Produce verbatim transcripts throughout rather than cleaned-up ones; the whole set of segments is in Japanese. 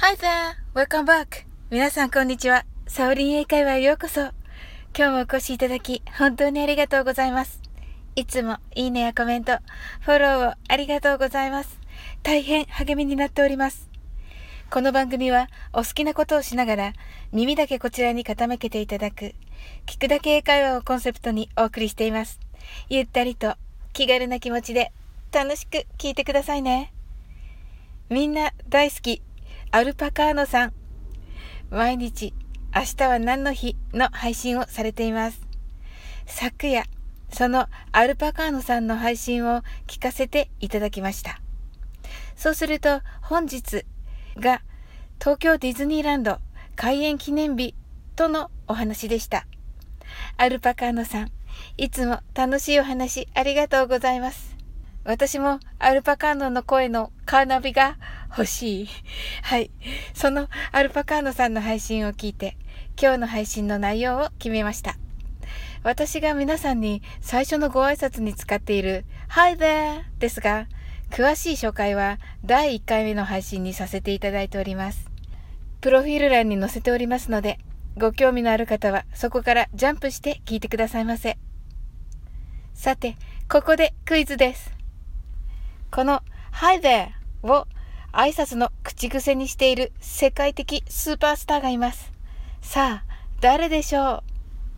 Hi there! Welcome back! 皆さんこんにちは。サオリン英会話へようこそ。今日もお越しいただき、本当にありがとうございます。いつもいいねやコメント、フォローをありがとうございます。大変励みになっております。この番組はお好きなことをしながら、耳だけこちらに傾けていただく、聞くだけ英会話をコンセプトにお送りしています。ゆったりと気軽な気持ちで楽しく聞いてくださいね。みんな大好き。アルパカーノさん、毎日明日は何の日の配信をされています。昨夜、そのアルパカーノさんの配信を聞かせていただきました。そうすると本日が東京ディズニーランド開園記念日とのお話でした。アルパカーノさん、いつも楽しいお話ありがとうございます。私もアルパカーノの声のカーナビが欲しい。はい。そのアルパカーノさんの配信を聞いて、今日の配信の内容を決めました。私が皆さんに最初のご挨拶に使っている Hi there ですが、詳しい紹介はだいいっかいめの配信にさせていただいております。プロフィール欄に載せておりますので、ご興味のある方はそこからジャンプして聞いてくださいませ。さて、ここでクイズです。この Hi there を挨拶の口癖にしている世界的スーパースターがいます。さあ、誰でしょ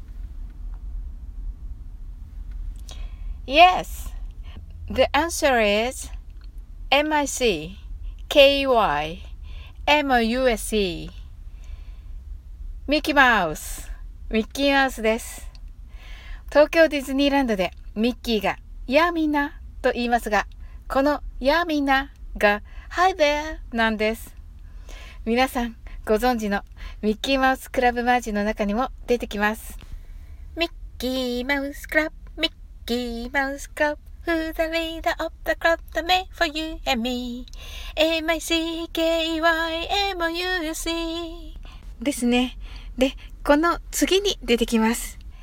う？ Yes! The answer is エムアイシーケーイーワイエムユーエスイー ミッキーマウスミッキーマウスです。東京ディズニーランドでミッキーがやあみんなと言いますが、このやあみんなが Hi there なんです。皆さんご存知のミッキーマウスクラブマーチの中にも出てきます。ミッキーマウスクラブ、ミッキーマウスクラブ、Who's the leader of the club that made for you and me? エムアイシーケーイーワイエムユーエスイー ですね。で、この次に出てきます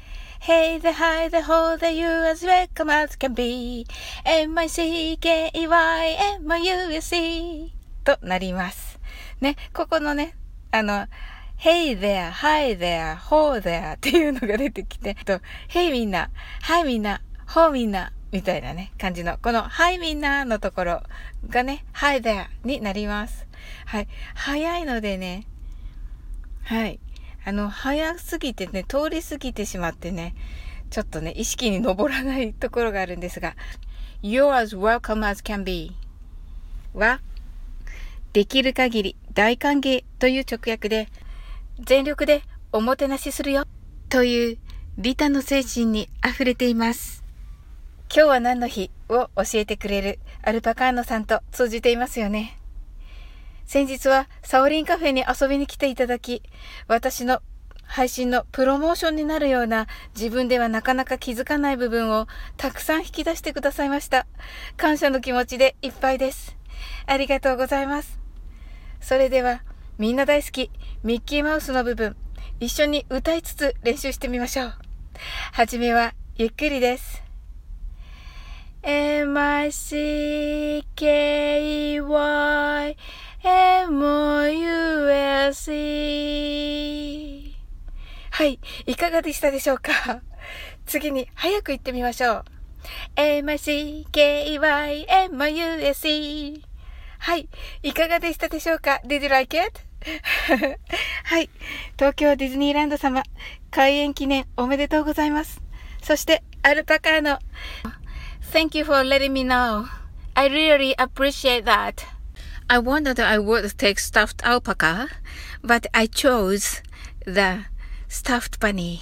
。Hey there, hi there, ho there, you as welcome as can be. エムアイシーケーイーワイエムユーエスイー となります。ね、ここのね、あの、Hey there, hi there, ho there っていうのが出てきて、と Hey みんな、Hi みんな、Ho みんな、みたいなね、感じの、この Hi みんなのところがね、Hi there になります。はい。早いのでね、はい。あの、早すぎてね、通り過ぎてしまってね、ちょっとね、意識に上らないところがあるんですが、You're as welcome as can be は、できる限り大歓迎という直訳で、全力でおもてなしするよという利他の精神に溢れています。今日は何の日を教えてくれるアルパカーノさんと通じていますよね。先日はサオリンカフェに遊びに来ていただき、私の配信のプロモーションになるような自分ではなかなか気づかない部分をたくさん引き出してくださいました。感謝の気持ちでいっぱいです。ありがとうございます。それではみんな大好きミッキーマウスの部分、一緒に歌いつつ練習してみましょう。はじめはゆっくりです。エムアイシーケーイーワイエムユーエスイー はい、いかがでしたでしょうか？次に早く言ってみましょう。エムアイシーケーイーワイエムユーエスイー はい、いかがでしたでしょうか？ Did you like it? はい、東京ディズニーランド様、開園記念おめでとうございます。そして、アルパカーノ。Thank you for letting me know. I really appreciate that.I wanted I would take stuffed alpaca, but I chose the stuffed bunny.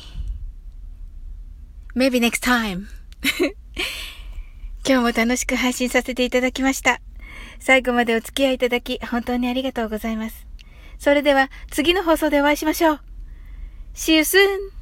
Maybe next time. 今日も楽しく配信させていただきました。最後までお付き合いいただき本当にありがとうございます。それでは次の放送でお会いしましょう。See you soon!